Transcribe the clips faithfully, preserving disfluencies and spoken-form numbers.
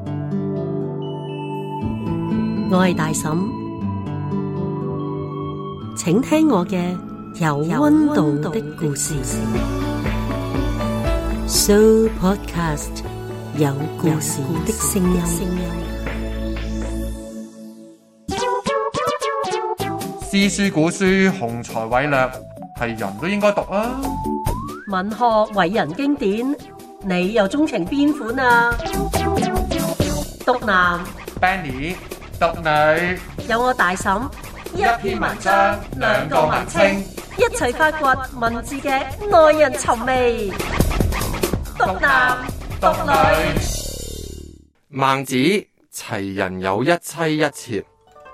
我係大嬸，請聽我嘅有溫度的故事。Sooo Podcast 有故事的聲音。 詩書古書雄才偉略，係人都應該讀啊！ 文學偉人經典，你又鍾情邊款啊？讀男 Benny， 讀女， 有我大嬸， 一篇文章，兩個文稱， 一齊發掘文字嘅耐人尋味。讀男讀女。 孟子：齊人有一妻一妾。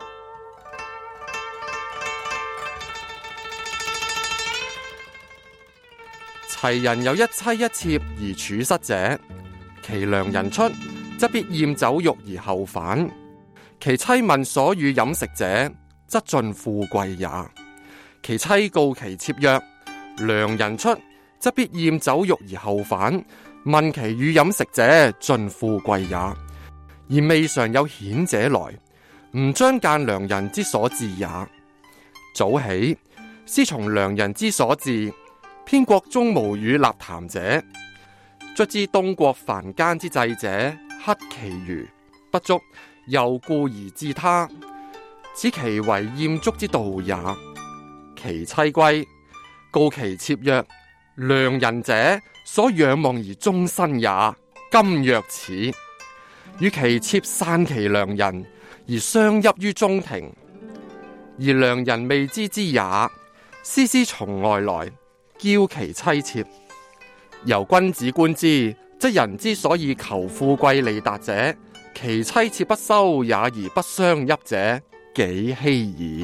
齊人有一妻一妾而處失者，其良人出，則必厭酒肉而後返；其妻問所與飲食者，則盡富貴也。其妻告其妾曰：良人出，則必厭酒肉而後返；問其與飲食者，盡富貴也。而未嘗有顯者來，吾將諫良人之所至也。早起，師從良人之所至。偏國中無與立談者，卒之東國凡間之祭者，克其餘不足，又故而治他，此其為厭足之道也。其妻歸，告其妾曰：良人者，所仰望而終身也。今若此，與其妾散其良人，而相泣於中庭，而良人未知之也。師師從外來，驕其妻妾，由君子觀之，則人之所以求富貴利達者，其妻妾不收也而不相泣者，幾希矣。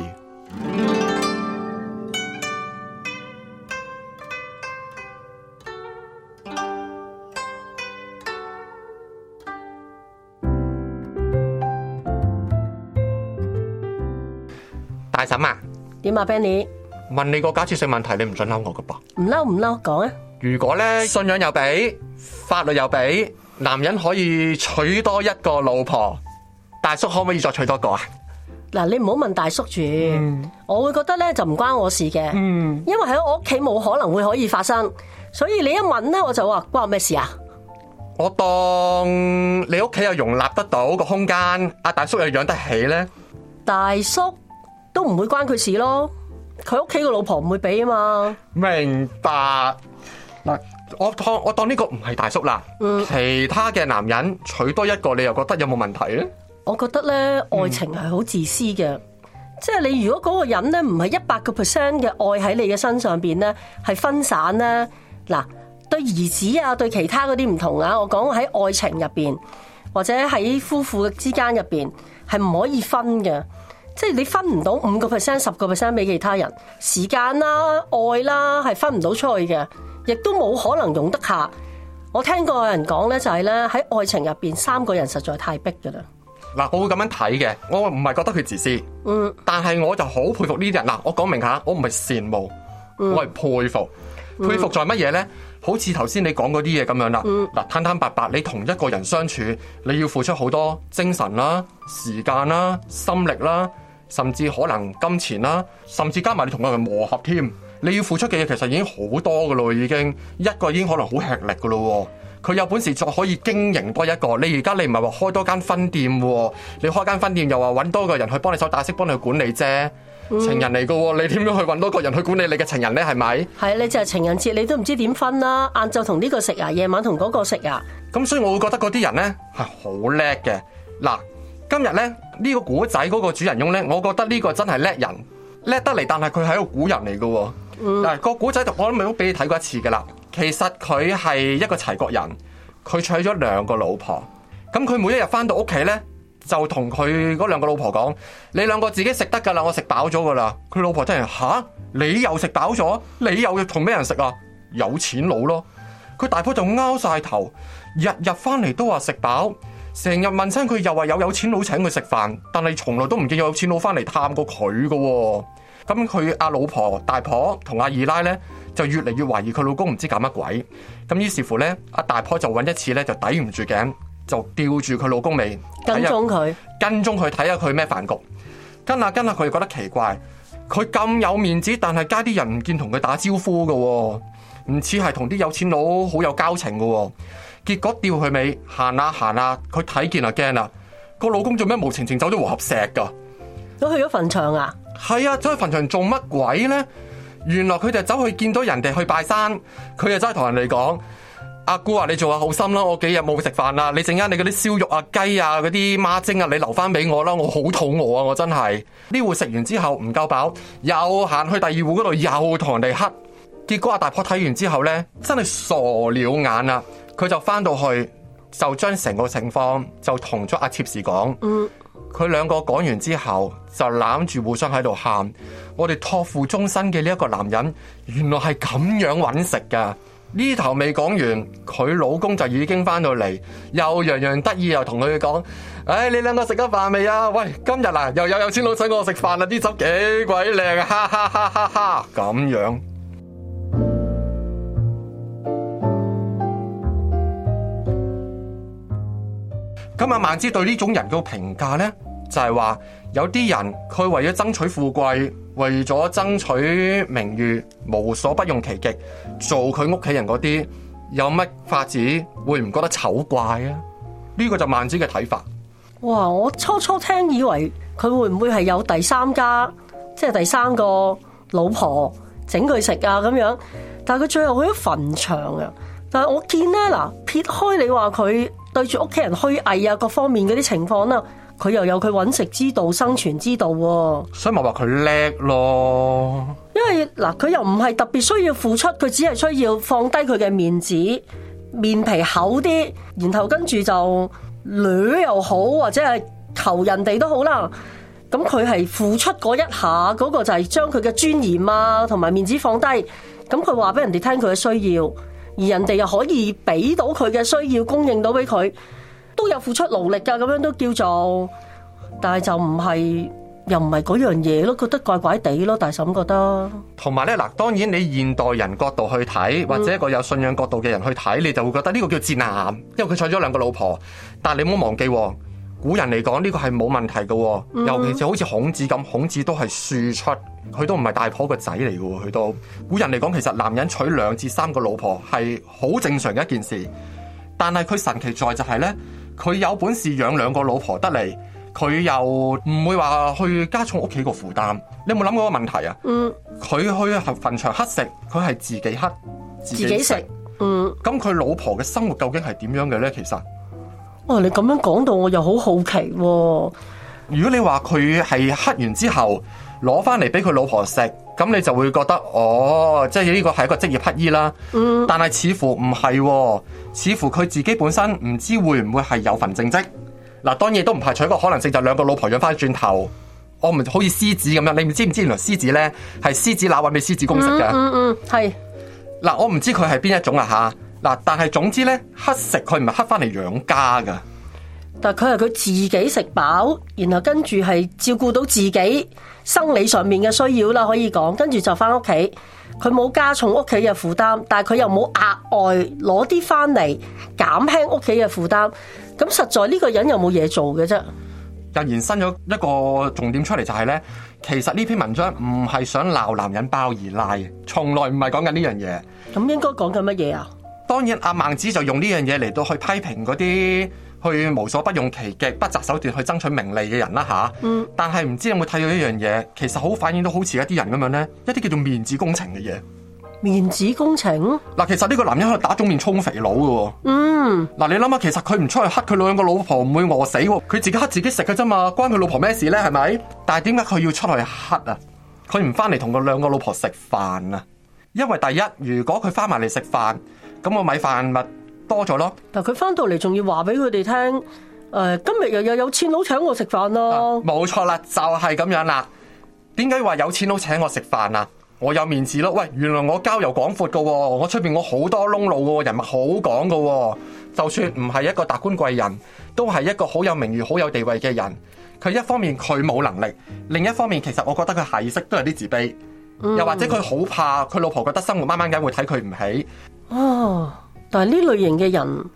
大嬸啊， 點啊 Benny？ 問你個假設性問題，你唔准嬲我噶噃？ 唔嬲唔嬲，講啊！ 如果咧信仰又俾，法律又俾，男人可以娶多一個老婆，大叔可唔可以再娶多個啊？ 嗱，你唔好問大叔住，嗯、我會覺得咧就唔關我事嘅，嗯、因為喺我屋企冇可能會可以發生，所以你一問咧我就話關我咩事啊？ 我當你屋企又容納得到個空間，阿大叔又養得起咧，大叔都唔會關佢事咯。佢屋企個老婆唔會俾啊嘛。 明白嗱，我當我當呢個唔係大叔啦，嗯、其他嘅男人娶多一個，你又覺得有冇問題咧？ 我覺得咧，愛情係好自私嘅，嗯、即係你如果嗰個人咧唔係一百個 percent 嘅愛喺你嘅身上邊咧，係分散咧。嗱，對兒子啊，對其他嗰啲唔同啊。我講喺愛情入邊，或者喺夫婦之間入邊，係唔可以分嘅。即係你分唔到五個 percent、十個 percent 俾其他人，時間啦、愛啦，係分唔到出去嘅，亦都冇可能容得下。我聽過有人講咧，就係咧喺愛情入邊，三個人實在太逼噶啦。 嗱，我會咁樣睇嘅，我唔係覺得佢自私，嗯，但係我就好佩服呢啲人。嗱，我講明下，我唔係羨慕，嗯、我係佩服。佩服在乜嘢咧？好似頭先你講嗰啲嘢咁樣啦。嗱、嗯，坦坦白白，你同一個人相處，你要付出好多精神啦、時間啦、心力啦。甚至可能金錢啦，甚至加埋你同佢磨合添，你要付出嘅嘢其實已經好多噶咯，已經一個已經可能好吃力噶咯。佢有本事再可以經營多一個，你而家你唔係話開多間分店，你開間分店又話揾多個人去幫你手打識幫你去管理啫，嗯、情人嚟噶，你點樣去揾多個人去管理你嘅情人呢？係咪？係你就係情人節，你都唔知點分啦。晏晝同呢個食啊，夜晚同嗰個食啊。咁所以我會覺得嗰啲人呢係好叻嘅。嗱。今日咧呢、呢個古仔嗰個主人翁咧，我覺得呢個真係叻人，叻得嚟，但係佢係一個古人嚟嘅。嗯，嗱個古仔我都未都俾你睇過一次噶啦。其實佢係一個齊國人，佢娶咗兩個老婆。咁佢每一日翻到屋企咧，就同佢嗰兩個老婆講：你兩個自己食得噶啦，我食飽咗噶啦。佢老婆真係吓，你又食飽咗，你又要同咩人食啊？有錢佬咯。佢大婆就拗晒頭，日日翻嚟都話食飽。成日問親佢，又話有有錢佬請佢食飯，但係從來都唔見有錢佬翻嚟探過佢噶。咁佢阿老婆大婆同阿二奶咧，就越嚟越懷疑佢老公唔知搞乜鬼。咁於是乎咧，阿大婆就揾一次咧，就抵唔住頸， 就吊住佢老公尾， 跟蹤佢， 跟蹤佢睇下佢咩飯局，跟下跟下佢又覺得奇怪，佢咁有面子，但係街啲人唔見同佢打招呼嘅，唔似係同啲有錢佬好有交情嘅，結果吊佢尾行下行下，佢睇見就驚啦，個老公做咩無情情走咗和合石噶？ 都去咗墳場啊？ 係啊，走去墳場做乜鬼咧？原來佢就走去見到人哋去拜山，佢就真係同人哋講：阿姑啊，你做下好心啦，我幾日冇食飯啦，你陣間你嗰啲燒肉啊、雞啊、嗰啲孖蒸啊，你留翻俾我啦，我好肚餓啊，我真係呢戶食完之後唔夠飽，又行去第二戶嗰度又同人哋乞。結果阿大婆睇完之後咧，真係傻了眼啦，佢就翻到去就將成個情況就同咗阿妾侍講。嗯。佢兩個講完之後就攬住互相喺度喊，我哋託付終身嘅呢一個男人原來係咁樣揾食噶。呢頭未講完，佢老公就已經翻到嚟，又洋洋得意又同佢講：唉，你兩個食咗飯未啊？喂，今日啊又有有錢佬請我食飯啦，啲酒幾鬼靚啊！哈哈哈哈哈！咁樣。咁阿孟之對呢種人嘅評價呢，就係話有啲人佢為咗爭取富貴，為咗爭取名譽，無所不用其極，做佢屋企人嗰啲，有乜法子會唔覺得醜怪啊？呢個就孟之嘅睇法。 哇！我初初聽以為佢會唔會係有第三家，即係第三個老婆整佢食啊咁樣，但係佢最後去咗墳場啊！但係我見咧嗱，撇開你話佢對住屋企人虛偽啊，各方面嗰啲情況啦，佢又有佢揾食之道、生存之道喎。所以咪話佢叻咯。因為嗱，佢又唔係特別需要付出，佢只係需要放低佢嘅面子，面皮厚啲，然後跟住就掠又好，或者係求人哋都好啦。咁佢係付出嗰一下，嗰個就係將佢嘅尊嚴啊同埋面子放低。咁佢話俾人哋聽佢嘅需要。而人哋又可以俾到佢嘅需要，供應到俾佢，都有付出勞力噶，咁樣都叫做，但係就唔係，又唔係嗰樣嘢咯，覺得怪怪地咯，大嬸覺得。同埋咧，嗱，當然你現代人角度去睇，或者一個有信仰角度嘅人去睇，你就會覺得呢個叫賤男，因為佢娶咗兩個老婆。但係你唔好忘記，古人嚟講呢個係冇問題嘅，尤其是好似孔子咁，孔子都係庶出。佢都唔係大婆個仔嚟嘅，佢都古人嚟講，其實男人娶兩至三個老婆係好正常嘅一件事。但係佢神奇在就係咧，佢有本事養兩個老婆得嚟，佢又唔會話去加重屋企個負擔。你有冇諗過個問題啊？嗯，佢去墳場乞食，佢係自己乞自己食。嗯，咁佢老婆嘅生活究竟係點樣嘅咧？其實，哇！你咁樣講到我又好好奇喎。如果你話佢係乞完之後攞翻嚟俾佢老婆食，咁你就會覺得哦，即係呢個係一個職業乞衣啦。嗯，但係似乎唔係喎，似乎佢自己本身唔知會唔會係有份正職。嗱，當然都唔排除一個可能性，就兩個老婆養翻轉頭。我唔好似獅子咁樣，你唔知唔知原來獅子咧係獅子乸搵俾獅子公食嘅。嗯嗯，係。嗱，我唔知佢係邊一種啊吓。嗱，但係總之咧，乞食佢唔係乞翻嚟養家噶。但係佢係佢自己食飽，然後跟住係照顧到自己生理上面嘅需要啦，可以講，跟住就翻屋企，佢冇加重屋企嘅負擔，但係佢又冇額外攞啲翻嚟減輕屋企嘅負擔，咁實在呢個人有冇嘢做嘅啫？又延伸咗一個重點出嚟，就係咧，其實呢篇文章唔係想鬧男人包二奶，從來唔係講緊呢樣嘢。咁應該講緊乜嘢啊？當然，阿孟子就用呢樣嘢嚟到去批評嗰啲去無所不用其極、不擇手段去爭取名利嘅人啦吓。嗯。但係唔知有冇睇到一樣嘢，其實好反映到好似一啲人咁樣咧，一啲叫做面子工程嘅嘢。面子工程？嗱，其實呢個男人喺度打腫面充肥佬嘅。嗯。嗱，你諗下，其實佢唔出去乞佢兩個老婆唔會餓死，佢自己乞自己食嘅啫嘛，關佢老婆咩事咧？係咪？但係點解佢要出去乞啊？佢唔翻嚟同佢兩個老婆食飯啊？因為第一，如果佢翻埋嚟食飯，咁個米飯咪多咗咯。但佢翻到嚟仲要話俾佢哋聽，誒、呃，今日又有有錢佬請我食飯咯。冇錯啦，就係、是、咁樣啦。點解話有錢佬請我食飯啊？我有面子咯。喂，原來我交遊廣闊噶，我出邊我好多窿路噶，人物好講噶。就算唔係一個達官貴人，都係一個好有名譽、好有地位嘅人。佢一方面佢冇能力，另一方面其實我覺得佢下意識都有啲自卑。又或者佢好怕佢老婆覺得生活掹掹緊會睇佢唔起。哦，但係呢類型嘅人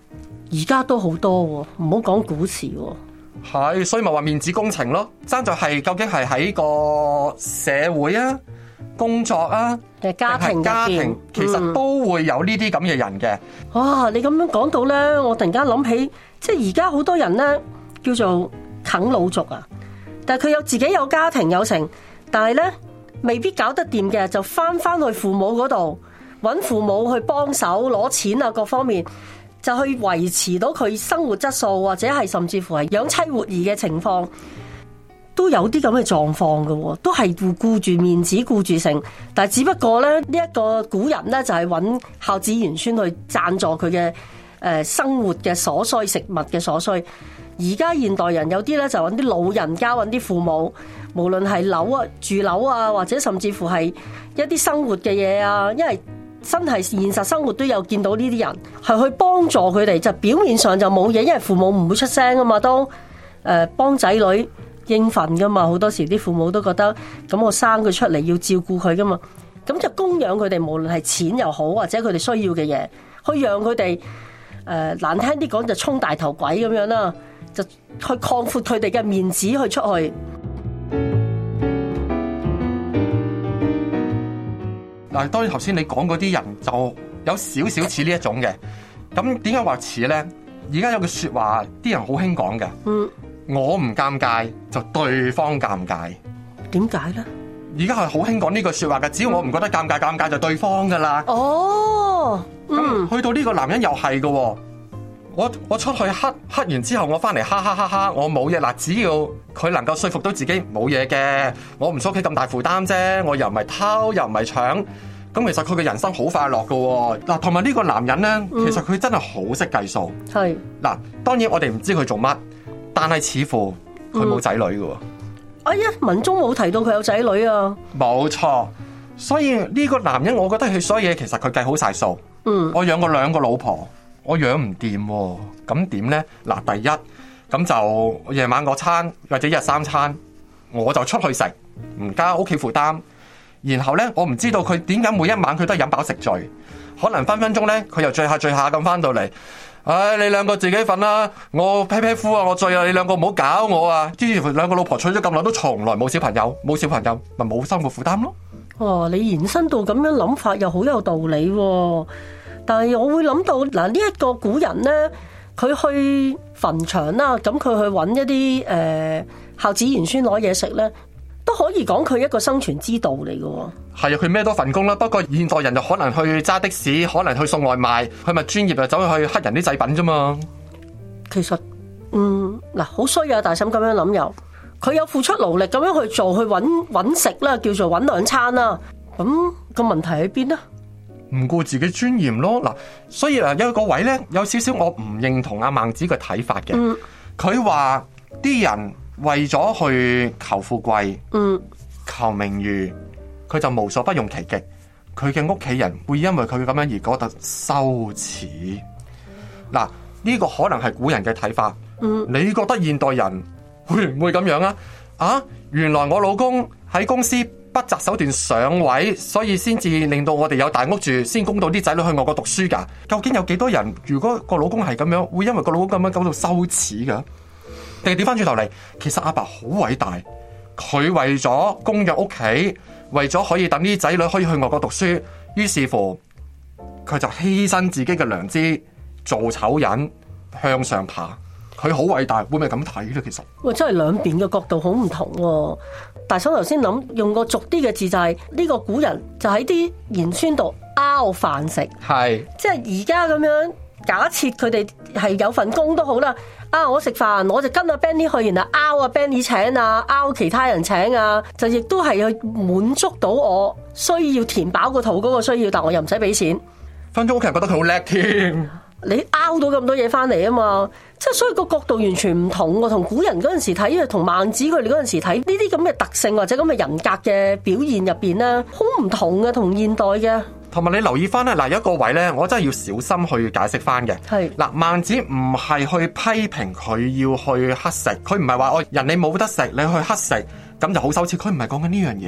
而家都好多喎，唔好講古時喎。 係，所以咪話面子工程咯，爭在係究竟係喺個社會啊、工作啊， 定係家庭入邊家庭，其實都會有呢啲咁嘅人嘅。 哇！你咁樣講到咧，我突然間諗起，即係而家好多人咧叫做啃老族啊，但係佢有自己有家庭有成，但係咧未必搞得掂嘅，就翻翻去父母嗰度揾父母去幫手攞錢啊，各方面。就去維持到佢生活質素，或者係甚至乎係養妻活兒嘅情況，都有啲咁嘅狀況嘅，都係顧住面子顧住成，但係只不過咧呢一、這個古人咧就係揾孝子賢孫去贊助佢嘅誒生活嘅所需，食物嘅所需。而家現代人有啲咧就揾啲老人家揾啲父母，無論係樓啊住樓啊，或者甚至乎係一啲生活嘅嘢啊，因為真係現實生活都有見到呢啲人係去幫助佢哋，就表面上就冇嘢，因為父母唔會出聲啊嘛，都誒幫仔女應份噶嘛，好多時啲父母都覺得咁我生佢出嚟要照顧佢噶嘛，咁就供養佢哋，無論係錢又好或者佢哋需要嘅嘢，去讓佢哋誒難聽啲講就充大頭鬼咁樣啦，就去擴闊佢哋嘅面子去出去。 嗱，當然頭先你講嗰啲人就有少少似呢一種嘅，咁點解話似咧？而家有句說話，啲人好興講嘅，嗯，我唔尷尬就對方尷尬。 點解咧？ 而家係好興講呢句說話嘅，只要我唔覺得尷尬，尷尬就對方噶啦。 哦， 咁去到呢個男人又係嘅，我我出去黑黑完之後，我翻嚟哈哈哈哈，我冇嘢。嗱，只要佢能夠說服到自己冇嘢嘅，我唔想屋企咁大負擔啫，我又唔係偷又唔係搶，咁其實佢嘅人生好快樂嘅。嗱，同埋呢個男人咧，嗯、其實佢真係好識計數。係嗱，當然我哋唔知佢做乜，但係似乎佢冇仔女嘅。 哎呀，文中冇提到佢有仔女啊。 冇錯，所以呢個男人，我覺得佢所有嘢其實佢計好晒數。嗯，我養過兩個老婆。我養唔掂喎，咁點呢？嗱，第一咁就夜晚嗰餐或者一日三餐，我就出去食，唔加屋企負擔。然後呢，我唔知道佢點解每一晚佢都係飲飽食醉，可能分分鐘呢，佢又醉下醉下咁翻到嚟。唉、哎，你兩個自己瞓啦，我披披夫啊，我醉啊，你兩個唔好搞我啊！之前兩個老婆娶咗咁耐都從來冇小朋友，冇小朋友咪冇生活負擔咯。 哇！你延伸到咁樣諗法又好有道理喎。但係我會諗到嗱，呢一個古人咧，佢去墳場啦，咁佢去揾一啲誒孝子賢孫攞嘢食咧，都可以講佢一個生存之道嚟嘅。 係啊，佢咩多份工啦。不過現代人就可能去揸的士，可能去送外賣，佢咪專業就走去去黑人啲製品啫嘛。 其實，嗯嗱，好衰啊！大嬸咁樣諗又，佢有付出勞力咁樣去做，去揾揾食啦，叫做揾兩餐啦。咁個問題喺邊呢？ 唔顧自己尊嚴咯，嗱，所以啊有一個位咧，有少少我唔認同阿孟子嘅睇法嘅。佢話啲人為咗去求富貴，嗯，求名譽，佢就無所不用其極。佢嘅屋企人會因為佢咁樣而覺得羞恥。嗱，呢個可能係古人嘅睇法。嗯，你覺得現代人會唔會咁樣啊？啊，原來我老公喺公司不擇手段上位，所以先至令到我哋有大屋住，先供到啲仔女去外國讀書噶。究竟有幾多人如果個老公係咁樣，會因為個老公咁樣感到羞恥噶？定係調翻轉頭嚟，其實阿爸好偉大，佢為咗供養屋企，為咗可以等啲仔女可以去外國讀書，於是乎佢就犧牲自己嘅良知，做醜人向上爬。佢好偉大，會唔會咁睇咧？其實喂，真係兩邊嘅角度好唔同喎。大嫂頭先諗用個俗啲嘅字就係、是、呢、這個古人就喺啲賢孫度拗飯食，係即係而家咁樣假設佢哋係有份工都好啦。啊，我食飯我就跟阿 Benny 去，然後拗阿 Benny 請啊，拗其他人請啊，就亦都係去滿足到我需要填飽個肚嗰個需要，但我又唔使俾錢。 分鐘屋企人覺得佢好叻添。 你拗到咁多嘢翻嚟啊嘛，即係所以個角度完全唔同喎，同古人嗰陣時睇，同孟子佢哋嗰陣時睇呢啲咁嘅特性或者咁嘅人格嘅表現入邊咧，好唔同嘅，同現代嘅。同埋你留意翻咧，嗱，有一個位咧，我真係要小心去解釋翻嘅。係嗱，孟子唔係去批評佢要去乞食，佢唔係話我人你冇得食，你去乞食咁就好羞恥，佢唔係講緊呢樣嘢，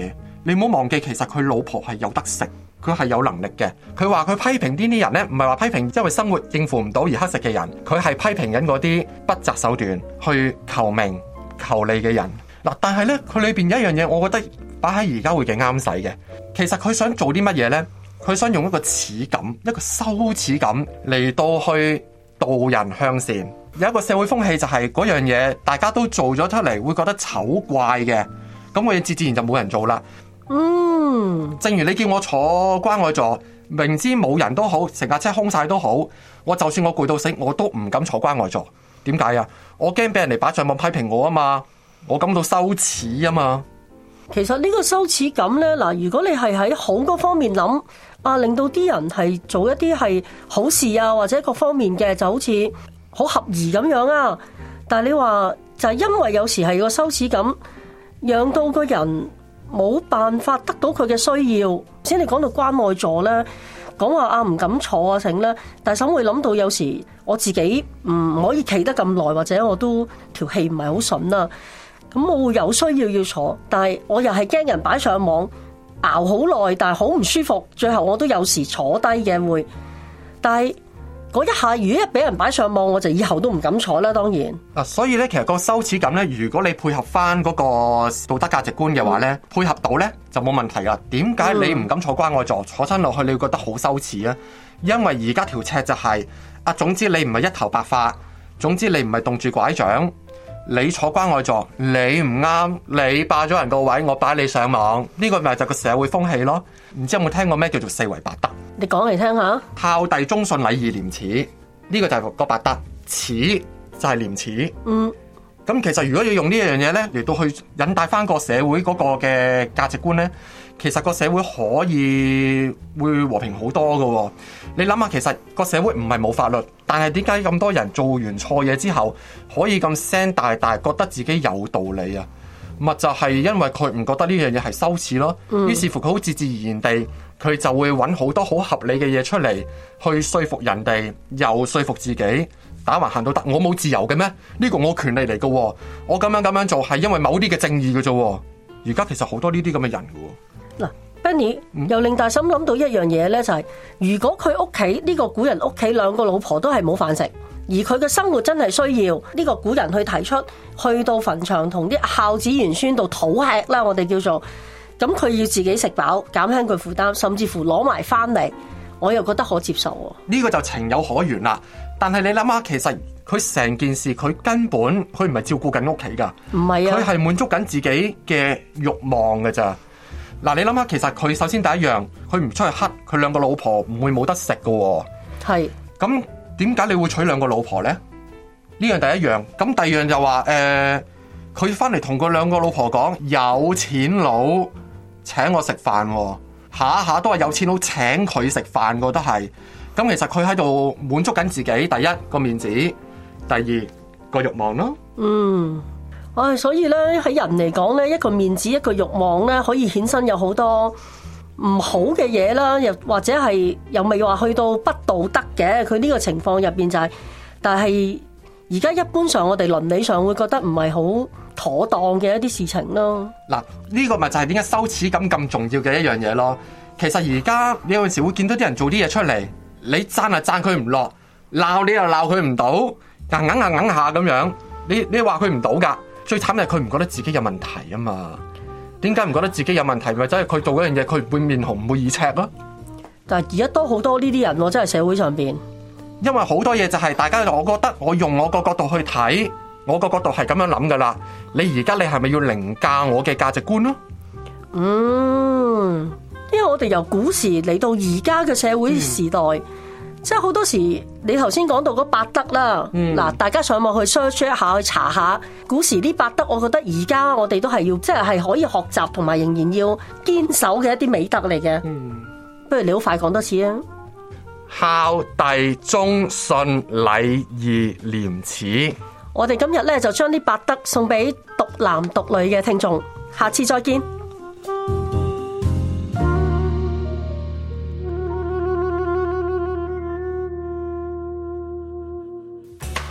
你唔好忘記，其實佢老婆係有得食，佢係有能力嘅。佢話佢批評呢啲人呢，唔係話批評因為生活應付唔到而乞食嘅人，佢係批評緊嗰啲不擇手段去求名求利嘅人。嗱，但係呢，佢裏邊有一樣嘢，我覺得擺喺而家會幾啱使嘅。其實佢想做啲乜嘢呢？佢想用一個恥感、一個羞恥感嚟到去導人向善。有一個社會風氣就係嗰樣嘢，大家都做咗出嚟，會覺得醜怪嘅，咁我嘢自自然就冇人做啦。 嗯， 正如你叫我坐關愛座，明知冇人都好，成架車空晒都好，我就算我攰到死，我都唔敢坐關愛座。點解啊？我驚俾人哋擺上網批評我啊嘛，我感到羞恥啊嘛。 其實呢個羞恥感呢，嗱，如果你係喺好嗰方面諗啊，令到啲人係做一啲係好事啊，或者各方面嘅，就好似好合宜咁樣啊。但係你話就係因為有時係個羞恥感，讓到個人冇辦法得到佢嘅需要。先你講到關愛座呢，講話啊唔敢坐啊成咧，但係總會諗到有時我自己唔可以企得咁耐，或者我都條氣唔係好順啊。咁我會有需要要坐，但係我又係驚人擺上網熬好耐，但係好唔舒服，最後我都有時坐低嘅會。但係嗰一下如果一俾人擺上網，我就以後都唔敢坐啦。當然嗱，所以咧，其實個羞恥感咧，如果你配合翻嗰個道德價值觀嘅話咧，嗯、配合到咧就冇問題噶。點解你唔敢坐關愛座，嗯、坐親落去你會覺得好羞恥啊？因為而家條尺就係、是、啊，總之你唔係一頭白髮，總之你唔係棟住拐杖。你坐關愛座，你唔啱，你霸咗人個位，我擺你上網，呢、這個咪就係個社會風氣咯。唔知有冇聽過咩叫做四維八德？ 你講嚟聽下。 孝弟忠信禮義廉恥，呢、這個就係個八德，恥就係廉恥。嗯，咁其實如果要用呢樣嘢咧嚟到去引帶翻個社會嗰個嘅價值觀咧，其實個社會可以會和平好多噶、哦。你諗下，其實個社會唔係冇法律，但係點解咁多人做完錯嘢之後可以咁聲大大，覺得自己有道理啊？咪就係、是、因為佢唔覺得呢樣嘢係羞恥咯。嗯、於是乎佢好自自然然地，佢就會揾好多好合理嘅嘢出嚟去說服人哋，又說服自己。打橫行都得，我冇自由嘅咩？呢、這個我權利嚟嘅，我咁樣咁樣做係因為某啲嘅正義嘅啫。而家其實好多呢啲咁嘅人嘅。嗱。 Benny 又令大心諗到一樣嘢咧，就係、是、如果佢屋企呢個古人屋企兩個老婆都係冇飯食，而佢嘅生活真係需要呢、這個古人去提出，去到墳場同啲孝子賢孫度討吃啦，我哋叫做咁，佢要自己食飽，減輕佢負擔，甚至乎攞埋翻嚟，我又覺得可接受。 呢個就情有可原啦。但係你諗下，其實佢成件事佢根本佢唔係照顧緊屋企噶， 唔係啊， 佢係滿足緊自己嘅慾望㗎咋。嗱，你諗下，其實佢首先第一樣，佢唔出去乞，佢兩個老婆唔會冇得食噶。 係。咁點解你會娶兩個老婆咧？呢樣第一樣。咁第二樣就話，誒、呃，佢翻嚟同佢兩個老婆講，有錢佬請我食飯，下下都係有錢佬請佢食飯噶，都係。咁其實佢喺度滿足緊自己，第一個面子，第二個慾望咯。嗯。 唉、哎，所以咧喺人嚟講咧，一個面子一個慾望咧，可以衍生有好多唔好嘅嘢啦，又或者係又未話去到不道德嘅。佢呢個情況入邊就係、是，但係而家一般上我哋倫理上會覺得唔係好妥當嘅一啲事情咯。 嗱，呢個咪就係點解羞恥感咁重要嘅一樣嘢咯。其實而家你有陣時會見到啲人做啲嘢出嚟，你讚啊讚佢唔落，鬧你又鬧佢唔到，硬硬硬硬下咁樣，你你話佢唔到噶。最慘係佢唔覺得自己有問題啊嘛？點解唔覺得自己有問題？咪即係佢做嗰樣嘢，佢唔會面紅唔會耳赤咯。 但係而家多好多呢啲人，真係社會上邊。 因為好多嘢就係大家，我覺得我用我個角度去睇，我個角度係咁樣諗噶啦。你而家你係咪要凌駕我嘅價值觀咯？ 嗯，因為我哋由古時嚟到而家嘅社會時代。嗯，即係好多時，你頭先講到嗰八德啦，嗱、嗯，大家上網去 search 一下，去查下古時啲八德，我覺得而家我哋都係要，即係係可以學習同埋仍然要堅守嘅一啲美德嚟嘅。嗯，不如你好快講多次啊！ 孝弟忠信禮義廉恥。 我哋今日咧就將啲八德送俾獨男獨女嘅聽眾，下次再見。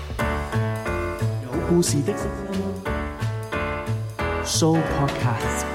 故事的 Show Podcast。